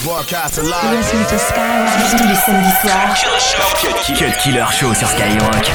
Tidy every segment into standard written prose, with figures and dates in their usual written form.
Broadcast live. Listen to Skyrock tous les samedis soirs. Cut Killer Show sur Skyrock.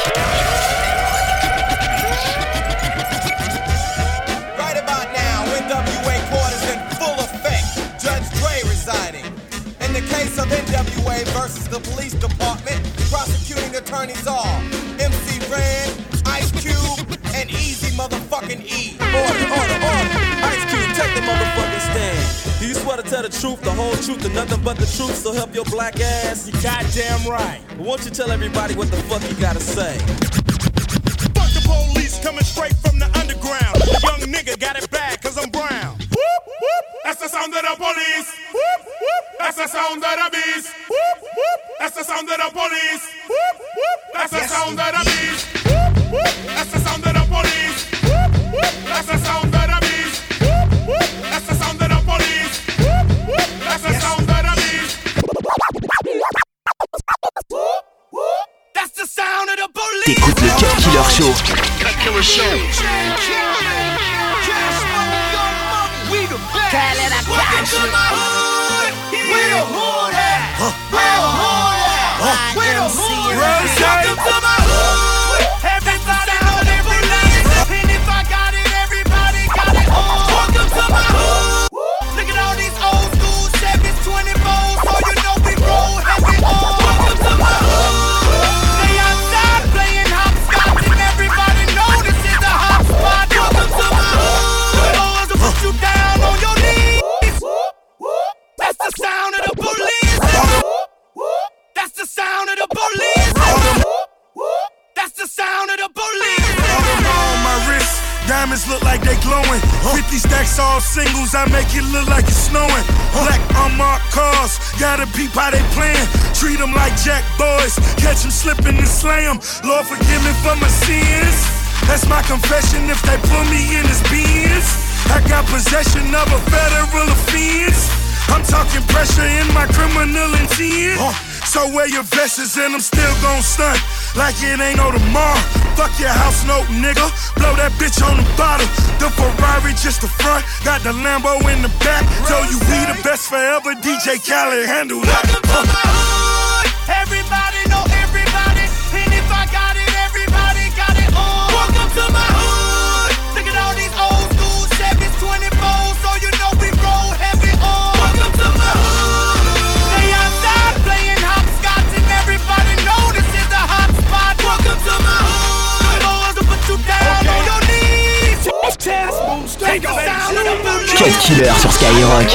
Right about now, NWA quarters in full effect. Judge Dre residing. In the case of NWA versus the police department, prosecuting attorneys are MC Ren, Ice Cube, and Easy motherfucking E. Order. Ice Cube, take the motherfucking stand. Do you swear to tell the truth, the whole truth, and nothing but the truth, so help your black ass? You goddamn right. Won't you tell everybody what the fuck you gotta say? Fuck the police coming straight from the underground. The young nigga got it bad cause I'm brown. Whoop, whoop. That's the sound of the police. Whoop, whoop. That's the sound of the beast. Whoop, whoop. That's the sound of the police. Whoop, whoop. That's the sound of the beast. Whoop, whoop. That's the sound of the police. Whoop, whoop. That's the sound of the beast. Whoop, whoop. That's the sound of the police. Whoop, whoop. That's the sound of the beast. Whoop, whoop. That's the sound of the police. T'écoutes le Cut Killer Show. Cut Killer Show. Cali, I got you. Where the hood at? Where the hood at? Where the hood at? Welcome to my hood. Everybody know every name. And if I got it, everybody got it. Welcome to my hood. Look at all these old school 7s, 24s, so you know we roll heavy. Welcome to my hood. They outside playing hopscotch, and everybody know this is the hot spot. Welcome to my hood. The boys will put you down on your knees. That's the sound of the police. That's the sound of the police. That's the sound of the police. On my wrist, diamonds look like they glowing. 50 stacks all singles, I make it look like it's snowing. Black unmarked cars, gotta peep how they playin'. Treat them like jack boys, catch them slipping and slay them. Lord forgive me for my sins. That's my confession if they pull me in his beans. I got possession of a federal offense. I'm talking pressure in my criminal intent. So wear your vests and I'm still gon' stunt like it ain't no tomorrow. Fuck your house note, nigga. Blow that bitch on the bottle. The Ferrari just the front, got the Lambo in the back. Told you we the best forever. DJ Khaled handle that. Welcome to my hood. Everybody know everybody. And if I got it, everybody got it. Welcome to my hood. Look at all these old school 7s, 24s, so you know we roll heavy. Welcome to my hood. They outside playing hopscotch, and everybody know this is the hot spot. Welcome to my hood. The boys will put you down on your knees. Take the sound of the police. Cut Killer sur Skyrock.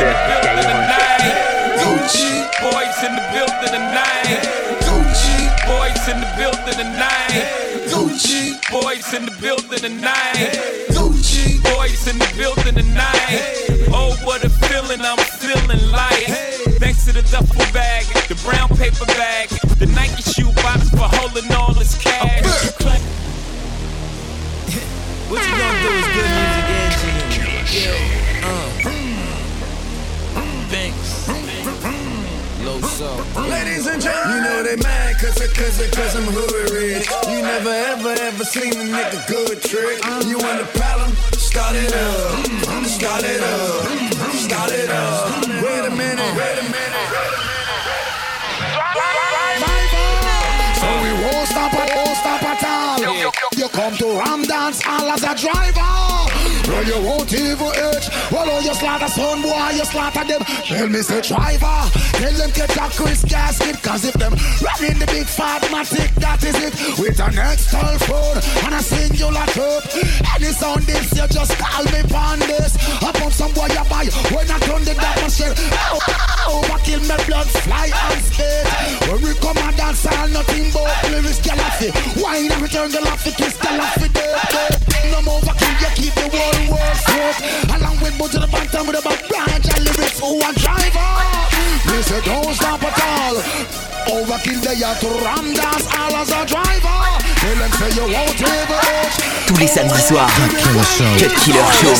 Gucci boys in the building tonight. Gucci boys in the building tonight. Gucci boys in the building tonight. Gucci boys in the building tonight. Oh, what a feeling, I'm feeling like. Thanks to the duffel bag, the brown paper bag, the Nike shoe box for holding all this cash. What you gonna do is good music engineering. Thanks. Low soul. Ladies and gentlemen, you know they mad cause I'm hood rich. You never ever seen a nigga good trick. You want a problem? Start it up. Start it up. Start it up. Wait a minute. So we won't stop at all. You come to Ram Dance all as a driver. Well, you won't even itch. Well, oh, you slaughter son, boy, you slaughter them. Tell me, say driver. Tell them get that Chris gasket. Cause if them running the big fat matic, that is it. With an external phone and a singular cup. Any sound this, you just call me on this. I put some boy you buy when I turn the dark machine. Overkill me blood fly and spit. When we come and dance all nothing but lyrics galaxy. Wine and return the laugh, kiss the laugh with it. No overkill, you keep the world straight. Along with Boo to the bottom with the back branch and lyrics who a driver. Me say don't stop at all. Overkill they are to Ram Dance all as a driver. Tell them say you won't ever age. Tous les samedis soirs. Cut Killer Show.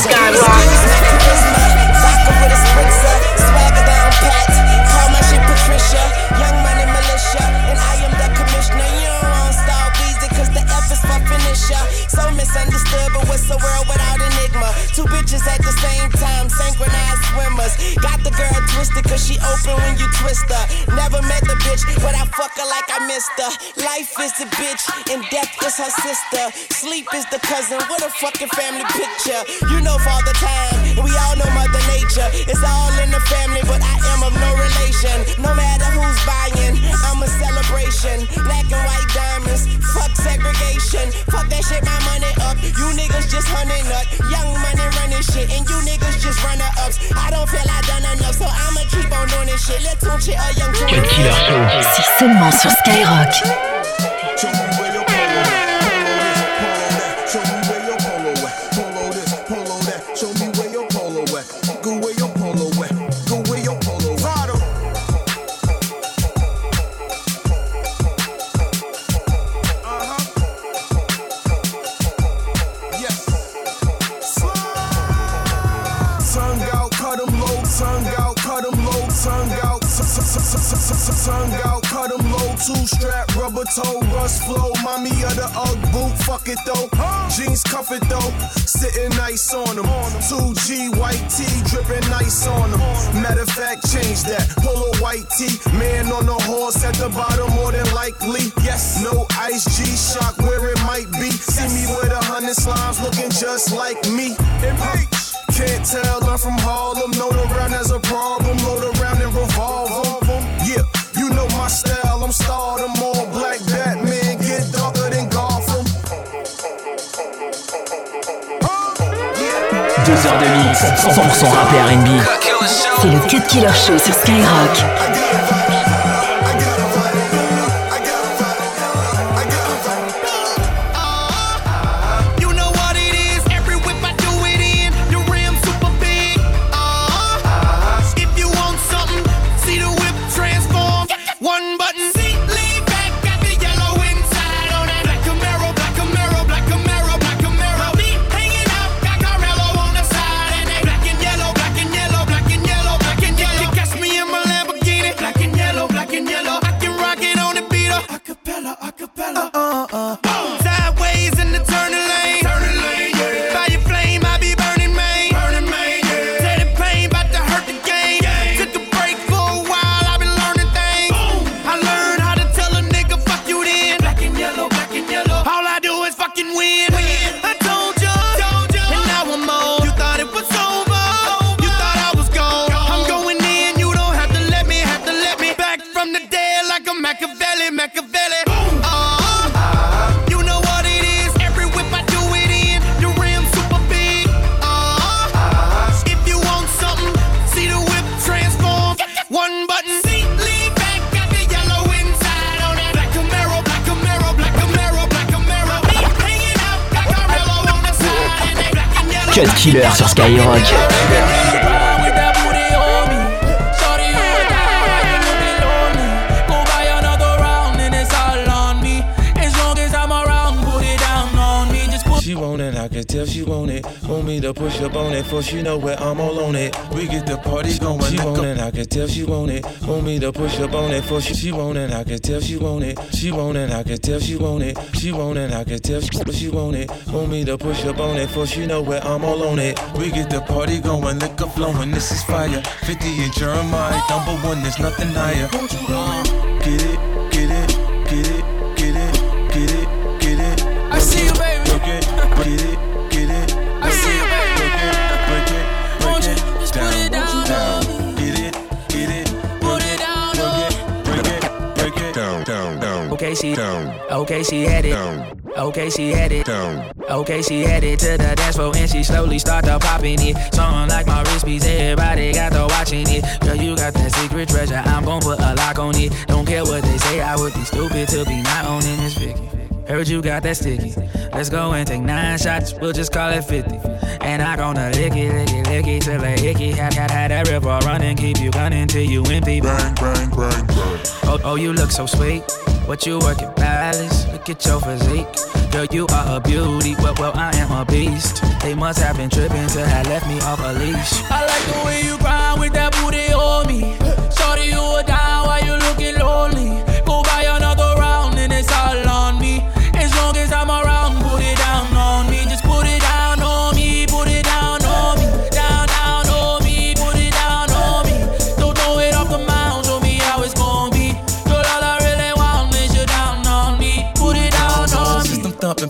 Swagger down pat. Call my shit Patricia. Young money militia. And I am the commissioner. You don't want style easy cause the F is for finisher. So misunderstood, but what's a world without enigma? Two bitches at the same time, synchronized swimmers. Got the girl twisted cause she open when you twist her. Never met the bitch, but I fuck her like I missed her. Life is the bitch and death is her sister. Sleep is the cousin, what a fucking family picture. You know Father Time, and we all know Mother Nature. It's all in the family, but I am of no relation. No matter who's buying, I'm a celebration. Black and white diamonds, fuck segregation. Fuck that shit, my money up. You niggas just hunting up. Young money running shit, and you niggas just runner-ups. I don't feel I done enough, so I'ma keep on doing this shit. Let's tune shit a young Cut Killer Show. C'est seulement sur Skyrock. Show me where your polo at. Show me where your polo at. Polo this, polo that. Show me where your polo at. Go where your polo at. Go where your polo at. Yes. Tongue out, cut 'em low. Tongue out, cut 'em low. Tongue out. Tongue out, cut 'em low. Two-strap, rubber toe, rust flow. Mommy of the Ugg boot, fuck it though. Jeans cuff it though, sitting nice on them. 2G white tee, dripping nice on them. Matter of fact, change that. Polo white tee, man on the horse at the bottom, more than likely. Yes, no ice G-Shock where it might be. See me with 100 slimes looking just like me. Can't tell, I'm from Harlem. Know the round has a problem. Load around and revolve them. Yeah, you know my style. I'm stardom. All black Batman. Get darker than Gotham. 2 heures de mix, 100% rap et R&B. C'est le Cut Killer Show sur Skyrock. Cut Killer sur Skyrock. She want it, I can tell she want it. Want me to push up on it, for she know where I'm all on it. We get the party going. She want it, I can tell she want it. Want me to push up on it, for she want it, I can tell she want it. She want it, I can tell she want it. She want it, I can tell she want it. Want me to push up on it, for she know where I'm all on it. We get the party going, liquor flowing, this is fire. 50 and Jeremiah, #1, there's nothing higher. Get it, get it, get it, get it, get it, get it. I see you, baby. Get it, get it. I see you, baby. Break it, Won't you just put it down? Get it, get it. Put it down, Break it, down. Okay, she had it. Okay, she had it. Okay, she headed to the dance floor and she slowly started popping it. Something like my wrist piece, everybody got to watching it. Girl, you got that secret treasure, I'm gon' put a lock on it. Don't care what they say, I would be stupid to be not owning this Vicky. Heard you got that sticky. Let's go and take 9 shots, we'll just call it 50. And I gonna lick it till a hickey. Had that river running, keep you gunning till you empty. Bang, bang, bang, bang. Oh, you look so sweet. What you working, balance? Look at your physique. Girl, you are a beauty, well, I am a beast. They must have been tripping till have left me off a leash. I like the way you grind with that booty on me. Shorty, you are down while you looking lonely. Go buy another round and it's all on me. As long as I'm around, put it down on me. Just put it down on me, put it down on me. Down on me, put it down on me. Don't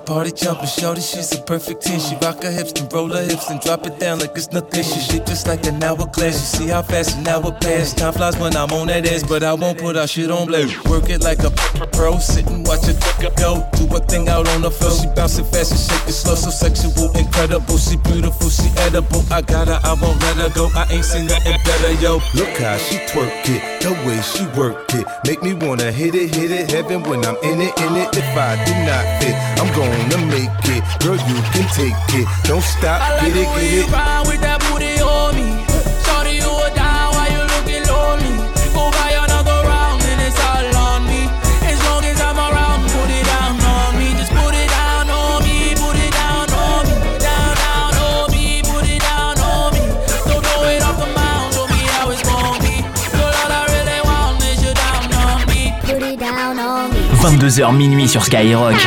party jumping, shorty, she's a perfect 10. She rock her hips and roll her hips and drop it down like it's nothing. She shake just like an hourglass. You see how fast an hour pass. Time flies when I'm on that ass, but I won't put our shit on blast. Work it like a pro, sit and watch it go. Do a thing out on the floor. She bouncing fast and shake it slow, so sexual, incredible. She beautiful, she edible. I got her, I won't let her go. I ain't seen nothing better, yo. Look how she twerk it, the way she work it, make me wanna hit it, heaven when I'm in it. If I do not fit, I'm gonna make it. Girl, you can take it, don't stop, I like get it, get it. Round with that booty on me. Shorty, you are down while you looking lonely. Go buy another round and it's all on me. As long as I'm around, put it down on me. Just put it down on me, put it down on me. Down on me, put it down on me. Don't throw it off the mound, show me how it's gonna be. Girl, all I really want is you down on me. Put it down on me. 22h minuit sur Skyrock.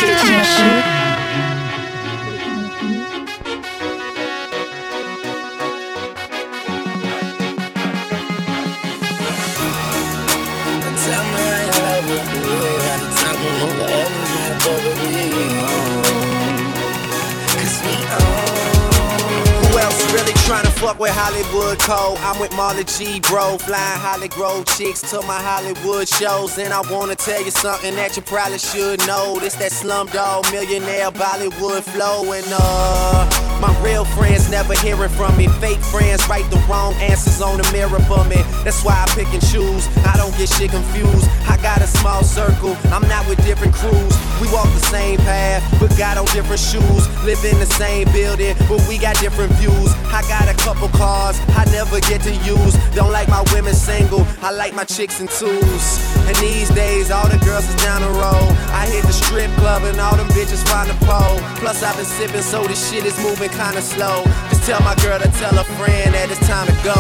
Fuck with Hollywood Code, I'm with Marley G, bro. Flying Holly Grove chicks to my Hollywood shows. And I wanna tell you something that you probably should know. This that Slumdog Millionaire Bollywood flow. And my real friends never hearing from me. Fake friends write the wrong answers on the mirror for me. That's why I pick and choose, I don't get shit confused. I got a small circle, I'm not with different crews. We walk the same path, but got on different shoes. Live in the same building, but we got different views. I got a couple cars I never get to use. Don't like my women single, I like my chicks in twos. And these days all the girls is down the road. I hit the strip club and all them bitches find the pole. Plus I've been sipping so this shit is moving kinda slow. Just tell my girl to tell a friend that it's time to go.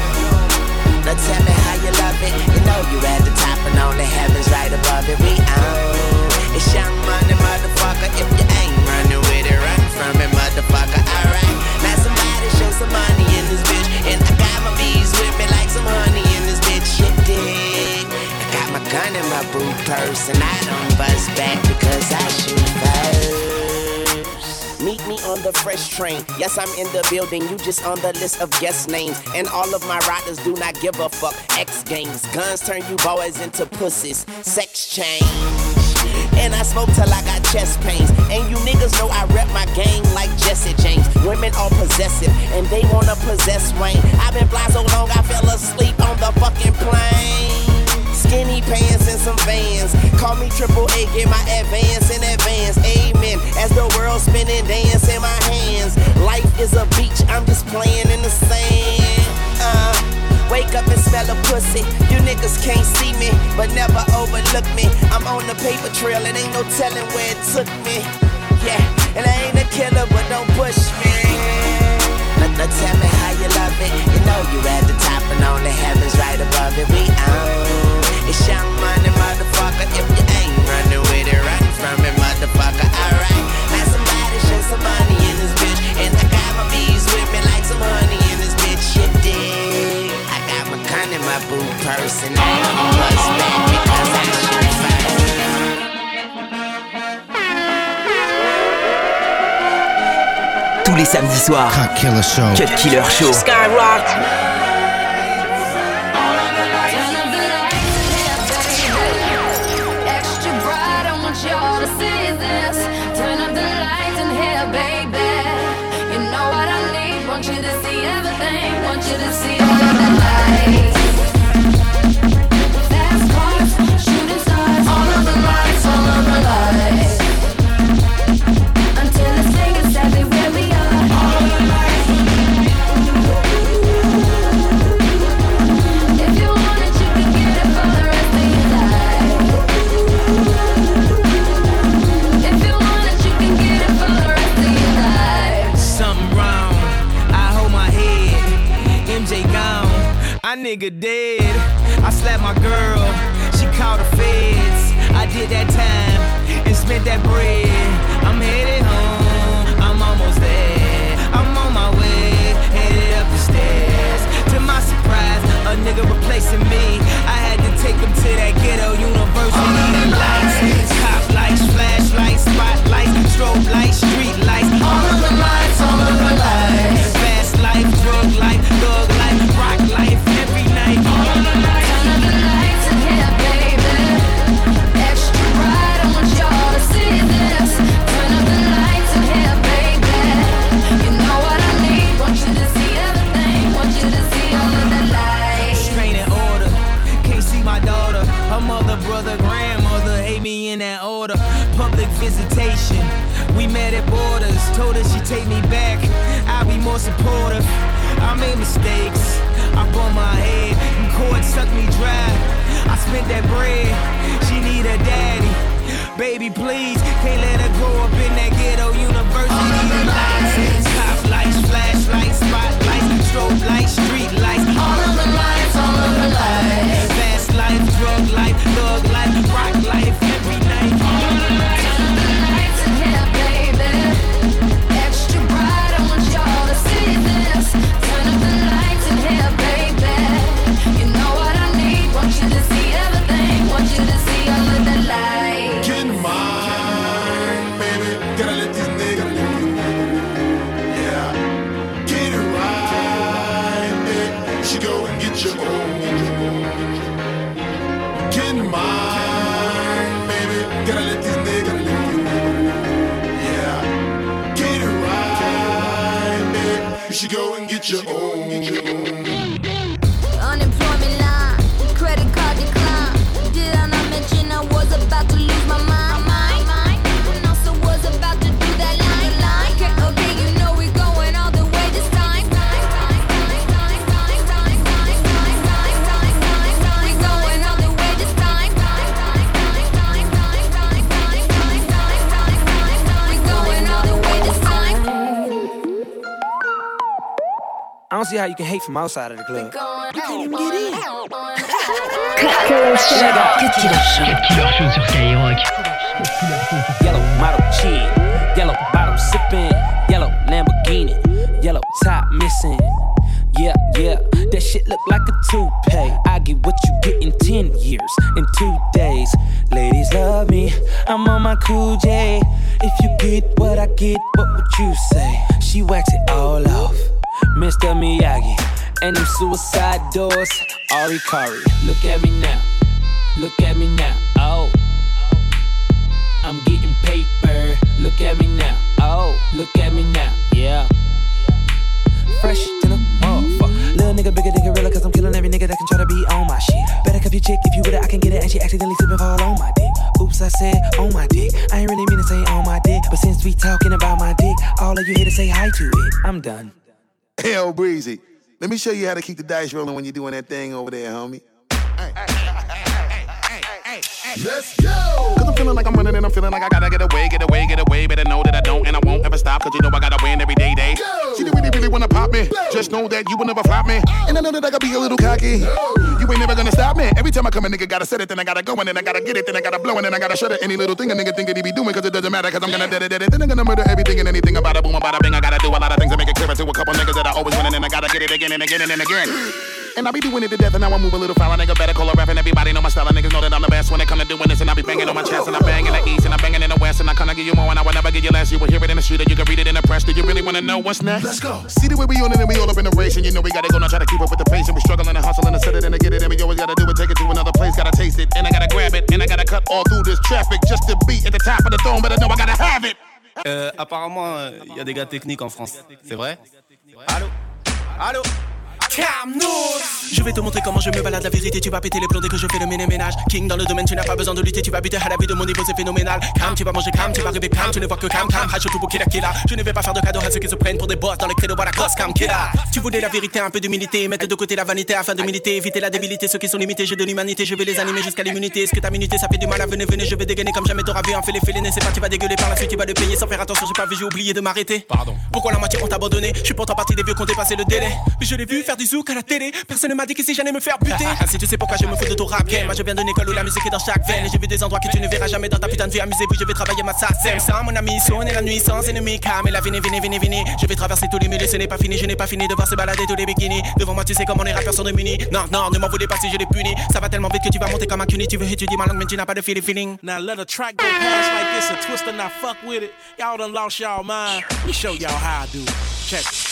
Now tell me how you love it. You know you at the top and on the heavens right above it. We own. It's Young Money, motherfucker. If you ain't running with it, run from it, motherfucker. Alright. Now somebody show some money in this bitch. And I got my bees with me like some honey in this bitch. You dig? I got my gun in my boot purse. And I don't bust back because I shoot first. Meet me on the fresh train. Yes, I'm in the building. You just on the list of guest names. And all of my riders do not give a fuck. X Games. Guns turn you boys into pussies. Sex change. And I smoke till I got chest pains. And you niggas know I rep my gang like Jesse James. Women are possessive and they wanna possess Wayne. I've been fly so long I fell asleep on the fucking plane. Skinny pants and some Vans. Call me Triple A, get my advance in advance. Amen. As the world spinning, dance in my hands. Life is a beach, I'm just playing in the sand. Wake up and smell a pussy. You niggas can't see me, but never overlook me. I'm on the paper trail, it ain't no telling where it took me. Yeah, and I ain't a killer, but don't push me. Now tell me how you love it. You know you at the top and on the heavens right above it. We own. It's Young Money, motherfucker. If you ain't running with it, run from it, motherfucker. Alright, now somebody show some money in this bitch. And I got my bees with me like some honey in this bitch. You dig? I got my gun in my boot purse and I don't bust back because I shoot first. Tous les samedis soirs, Cut Killer Show. Cut Killer Show. Skyrock. Nigga dead. I slapped my girl, she called the feds. I did that time and spent that bread. I'm headed home, I'm almost there. I'm on my way, headed up the stairs. To my surprise, a nigga replacing me. I had to take him to that ghetto university. Lights, cop lights, flashlights, spotlights, strobe lights. visitation. We met at Borders, told her she'd take me back. I'll be more supportive. I made mistakes, I bumped my head, and cord sucked me dry. I spent that bread, she need a daddy. Baby, please, can't let her grow up in that ghetto university lights. Top lights, flashlights, spotlights, strobe lights, street lights. All of the lights, all of the lights. Fast life, drug life, thug life, rock life, every night. All of the lights in here, baby. Extra bright, I want y'all to see this. Turn up the lights in here, baby. You know what I need, want you to see everything. Want you to see all of the lights. Get mine, baby. Gotta let these niggas live. Yeah. Get it right, baby. She go and get your own. Get mine, baby. Gotta let these niggas live. Yeah. Get it right, baby. She go and get your own. Unemployment line, credit card decline. Did I not mention I was about to lose my mind? And also was about to do that line. Okay, you know we're going all the way this time. We're going all the way this time. We're going all the way this time. I don't see how you can hate from outside of the club. You can't even get in. Cut Killer Show sur Skyrock. Yellow model cheat, yellow bottle sipping, yellow Lamborghini, yellow top missing. Yeah, that shit look like a toupee. I get what you get in 10 years, in 2 days. Ladies love me, I'm on my cool J. If you get what I get, what would you say? She wax it all off, Mr. Miyagi. And them suicide doors, Ari Kari. Look at me now, look at me now, oh. I'm getting paper, look at me now, oh. Look at me now, yeah. Fresh than a motherfucker. Little nigga bigger than gorilla, cause I'm killing every nigga that can try to be on my shit. Better cuff your chick, if you with it, I can get it. And she accidentally slip and fall on my dick. Oops, I said on my dick. I ain't really mean to say on my dick, but since we talking about my dick, all of you here to say hi to it. I'm done. Hell, Breezy, let me show you how to keep the dice rolling when you're doing that thing over there, homie. Let's go! Cause I'm feeling like I'm running and I'm feeling like I gotta get away. Better know that I don't and I won't ever stop. Cause you know I gotta win every day. Go! She really wanna pop me. Go! Just know that you will never flop me. And I know that I gotta be a little cocky. No! You ain't never gonna stop me. Every time I come a nigga gotta set it, then I gotta go and then I gotta get it, then I gotta blow and then I gotta shut it. Any little thing a nigga think that he be doing, cause it doesn't matter. Cause I'm gonna dead it. Then I'm gonna murder everything and anything about a boom, about a bing. I gotta do a lot of things to make it clear to a couple niggas that I always win and then I gotta get it again and again and again. And I be doing it to death and now I move a little foul. A nigga better call a rap and everybody know my style. And niggas know that I'm the best when it come to doing this. And I be banging on my chest and I bang in the east and I banging in the west. And I kinda give you more and I will never give you less. You will hear it in the street or you can read it in the press. Do you really wanna know what's next? Let's go. See the way we on it and we all up in the race. And you know we gotta go now try to keep up with the pace. And we struggling and hustling and set it and to get it. And we always gotta do it, take it to another place. Gotta taste it and I gotta grab it. And I gotta cut all through this traffic just to be at the top of the throne. But I know I gotta have it. Apparemment, il y a des gars techniques en France. C'est vrai? Allô? Je vais te montrer comment je me balade la vérité. Tu vas péter les plombs dès que je fais le ménage. King dans le domaine, tu n'as pas besoin de lutter. Tu vas buter à la vie de mon niveau, c'est phénoménal. Cam, tu vas manger cam, tu vas rêver cam. Tu ne vois que cam, hache tout pour killa. Je ne vais pas faire de cadeaux à ceux qui se prennent pour des boss dans les credos à la gosse cam killa. Tu voulais la vérité, un peu d'humilité. Mettre de côté la vanité afin de militer. Éviter la débilité, ceux qui sont limités. J'ai de l'humanité, je vais les animer jusqu'à l'immunité. Est-ce que ta minute ça fait du mal à venez, je vais dégainer comme jamais t'auras vu. En fait les félines, c'est pas tu vas dégueuler par la suite, tu vas le payer sans faire attention. J'ai pas vu, j'ai oublié de m'arrêter. Pardon. Pourquoi la moitié ont abandonné? Je suis pourtant parti des vieux qui ont dépassé le délai. Mais je l'ai vu faire du zouk à la télé. Personne ne m'a dit qu'ici j'allais me faire buter. Si tu sais pourquoi je me fous de ton rap game. Moi je viens d'une école où la musique est dans chaque veine. Et j'ai vu des endroits que tu ne verras jamais dans ta putain de vie. Amusez-vous, je vais travailler ma sassem. Sans mon ami, sonner la nuit sans ennemi. Calme et la vini. Je vais traverser tous les milieux, ce n'est pas fini. Je n'ai pas fini de voir se balader tous les bikinis. Devant moi tu sais comment les rappeurs sont démunis. Non, ne m'en voulez pas si je les punis. Ça va tellement vite que tu vas monter comme un cuny. Tu veux étudier ma langue mais tu n'as pas de feeling. Now let a track go past like this and twist and not fuck with it. Y'all done lost y'all mind. Let me show y'all how I do. Check it.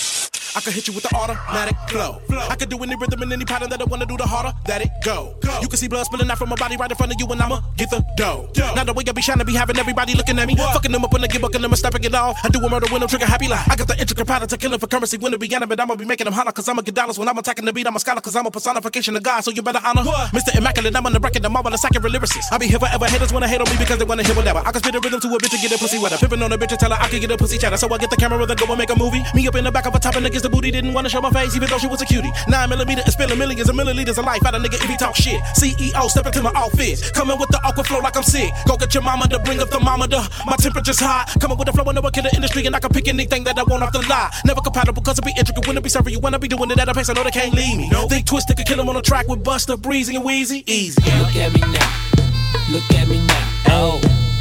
I can hit you with the automatic flow. I can do any rhythm and any pattern that I wanna do, the harder that it go. You can see blood spilling out from my body right in front of you, and I'ma get the dough. Now the way I be shining, be having everybody looking at me, fucking them up when I get bucking them and snapping it all. I do a murder when I'm trigger happy like I got the intricate pattern to kill it for currency when it be animate. I'ma be making them holler, cause I'ma get dollars when I'm attacking the beat. I'm a scholar, cause I'm a personification of God, so you better honor Mr. Immaculate. I'm on the record, I'm all on the accurate lyricist. I be here forever, haters wanna hate on me because they wanna hear whatever. I can spit a rhythm to a bitch and get a pussy wetter. Pippin' on a bitch and tell her I can get a pussy chatter. So I get the camera and go and make a movie. Me up in the back of a top and against the booty, didn't wanna show my face even though she was a cutie. 9mm and spilling millions of milliliters of life out of nigga if he talk shit. CEO step into my office, coming with the awkward flow like I'm sick. Go get your mama to bring up thermometer. My temperature's hot, coming with the flow and never kill the industry, and I can pick anything that I want off the lot. Never compatible cause it be intricate when it be serving you. When I be doing it at a pace I know they can't leave me. Think Twisted could kill him on the track with Buster, Breezy and Weezy. Easy. Look at me now. Look at me now. Oh,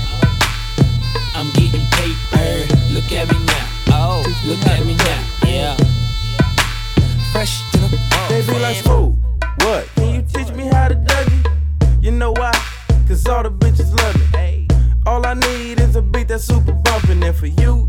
I'm getting paper. Look at me now. Oh, look at me now. Yeah. Fresh to the Baby, like smooth. What? Can you teach me how to Dougie? You know why? Cause all the bitches love me. Hey. All I need is a beat that's super bumpin'. And for you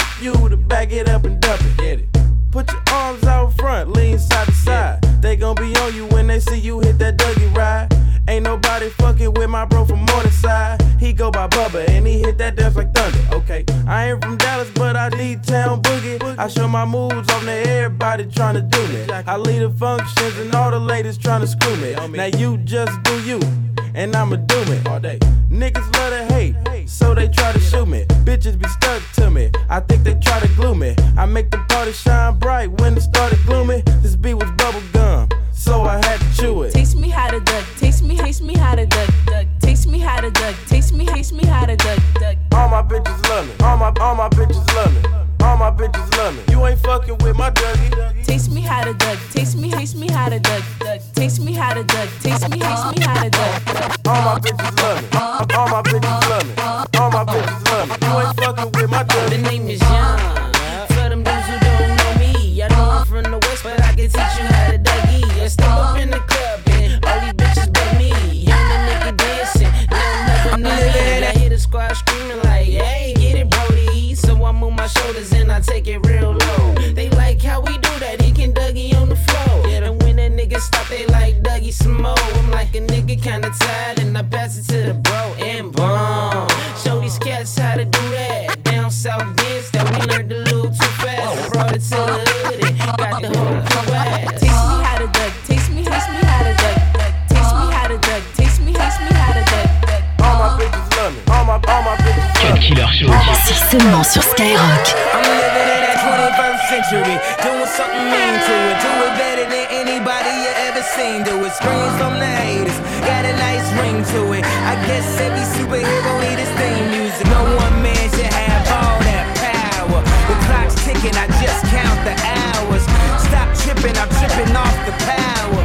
to back it up and dump it. Get it. Put your arms out front, lean side to side. They gon' be on you when they see you hit that Dougie ride. Ain't nobody fucking with my bro from Morningside. He go by Bubba and he hit that dance like thunder. Okay, I ain't from Dallas, but I need town boogie. I show my moves on to everybody tryna do me. I lead the functions and all the ladies tryna screw me. Now you just do you, and I'ma do it all day. Niggas love to hate, so they try to shoot me. Bitches be stuck to me, I think they try to glue me. I make the party shine bright when it started gloomy. This beat was bubble gum, so I had to chew it. Taste me how to duck, taste me how to duck, taste me how to duck, taste me how to duck. All my bitches love me, all my bitches love me, all my bitches love me. You ain't fucking with my Dougie. Taste me how to duck, taste me how to duck, taste me how to duck, taste me how to duck. All my bitches love me, all my bitches love me, all my bitches love me. You ain't fucking with my Dougie. The name is Young. For them dudes who don't know me, I know I'm from the West, but I can teach you how to Dougie. I step up in the club and all these bitches but me. Young the nigga dancing, I'm living. I hear the squad screaming like, hey, get it, Brody. So I move my shoulders and I take it real low. They like how we do that, he can Dougie on the floor. And when that nigga stop, they like Dougie some more. I'm like a nigga kinda tired and I pass it to the bro and boom. Show these cats how to do that. Down south dance that we learned a little too fast. Brought it to the hood and got the whole crew ass. Taste me how to duck, taste me how to duck, taste me how to duck, taste me how to duck. All my bitches love me, all my bitches love me. Killer Show. C'est seulement sur Skyrock. I'm living in that 21st century, doing something mean to it. Do it better than anybody you ever seen. Do it, screams from the haters, got a nice ring to it. I guess every superhero need his theme music. No one man should have all that power. The clock's ticking, I just count the hours. Stop tripping, I'm tripping off the power.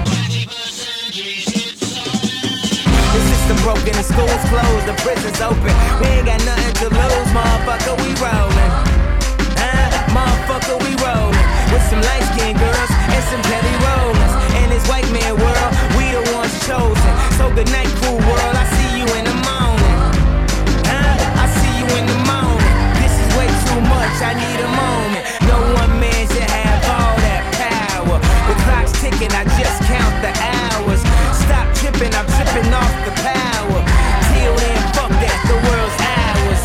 The system broken, the school's closed, the prison's open. We ain't got nothing to lose, motherfucker, we rollin'. Motherfucker, we rollin'. With some light-skinned girls and some petty rollers. In this white man world, we the ones chosen. So good night, cool world, I see you in the morning. I see you in the morning. This is way too much, I need a moment. No one man should have all that power. The clock's ticking, I just count the hours. Stop tripping, I'm tripping off the power. Till then, fuck that, the world's ours.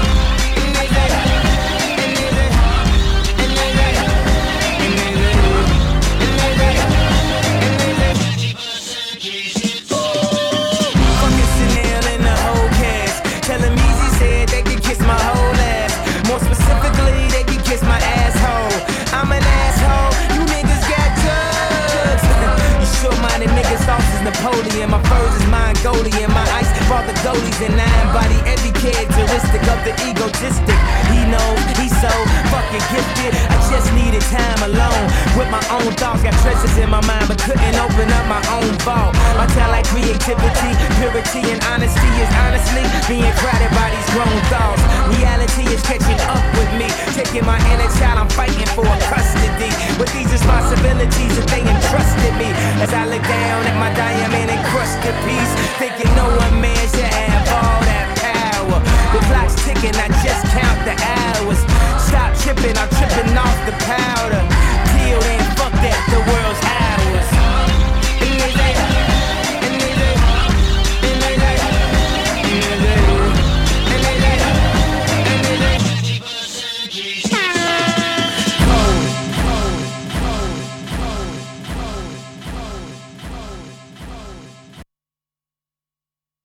Fucking Chanel and the whole cast. Tell them Easy said they could kiss my whole ass. More specifically, they could kiss my asshole. I'm an asshole, you niggas got drugs. You sure-minded niggas, sauce is Napoleon. My furs is Mongolian. My ice brought the goalies and I embody every characteristic of the egotistic. He knows he's so fucking gifted. I just needed time alone with my own thoughts. Got treasures in my mind but couldn't open up my own vault. My talent, creativity, purity and honesty is honestly being crowded by these grown thoughts. Reality is catching up with me. Taking my inner child, I'm fighting for custody. With these responsibilities that they entrusted me. As I look down at my